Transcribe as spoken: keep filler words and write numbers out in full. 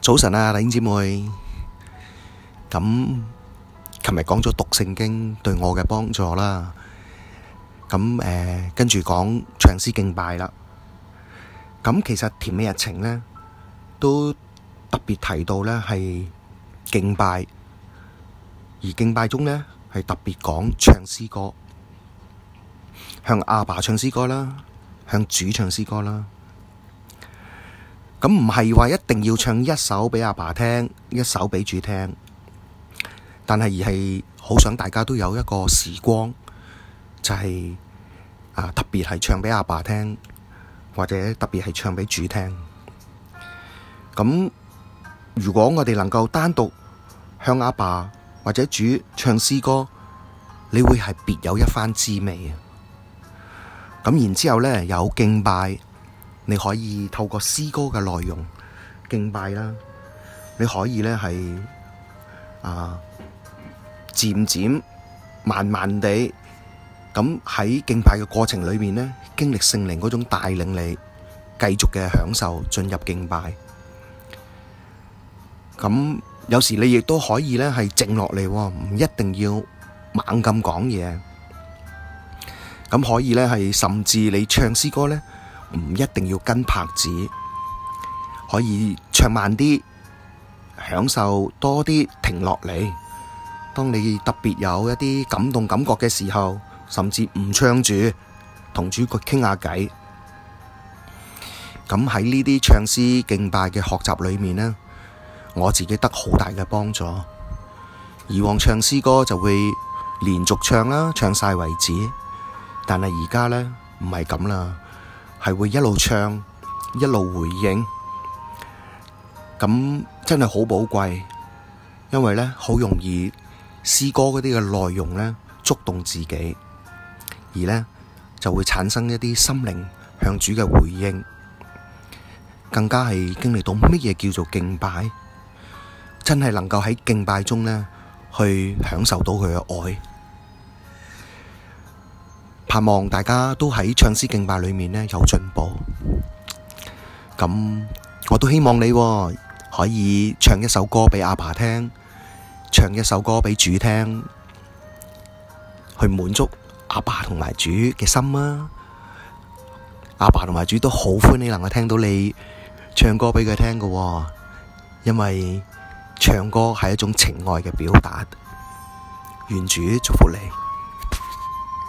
早晨啊，弟兄姊妹。咁，琴日講咗讀聖經對我嘅幫助啦。咁誒、呃，跟住講唱詩敬拜啦。咁其實甜美日程咧，都特別提到咧係敬拜，而敬拜中咧係特別講唱詩歌，向阿爸唱詩歌啦，向主唱詩歌啦。咁唔係話一定要唱一首畀阿爸聽，一首畀主聽，但係而係好想大家都有一個時光，就係、是、啊特別係唱畀阿爸聽，或者特別係唱畀主聽。咁如果我哋能夠單獨向阿爸或者主唱詩歌，你會係別有一番滋味啊！咁然之後咧有敬拜。你可以透過詩歌嘅內容敬拜啦，你可以咧係啊漸漸慢慢地咁喺敬拜嘅過程裏面咧，經歷聖靈嗰種帶領你繼續嘅享受進入敬拜。咁有時你亦都可以咧係靜落嚟，唔一定要猛咁講嘢。咁可以咧係甚至你唱詩歌咧，唔一定要跟拍子，可以唱慢啲，享受多啲，停落嚟。當你特別有一啲感動感覺嘅時候，甚至唔唱住，同主角傾下偈。咁喺呢啲唱詩敬拜嘅學習裏面呢，我自己得好大嘅幫助。以往唱詩歌就會連續唱啦，唱晒為止。但係而家呢，唔係咁啦。係會一路唱，一路回應，咁真係好寶貴，因為咧好容易詩歌嗰啲嘅內容咧觸動自己，而咧就會產生一啲心靈向主嘅回應，更加係經歷到乜嘢叫做敬拜，真係能夠喺敬拜中咧去享受到佢嘅愛。盼望大家都喺唱詩敬拜裏面呢有進步，咁我都希望你可以唱一首歌畀阿爸聽，唱一首歌畀主聽，去滿足阿爸同埋主嘅心啊！阿爸同埋主都好歡喜能夠聽到你唱歌畀佢聽㗎，因為唱歌係一種情愛嘅表達。願主祝福你。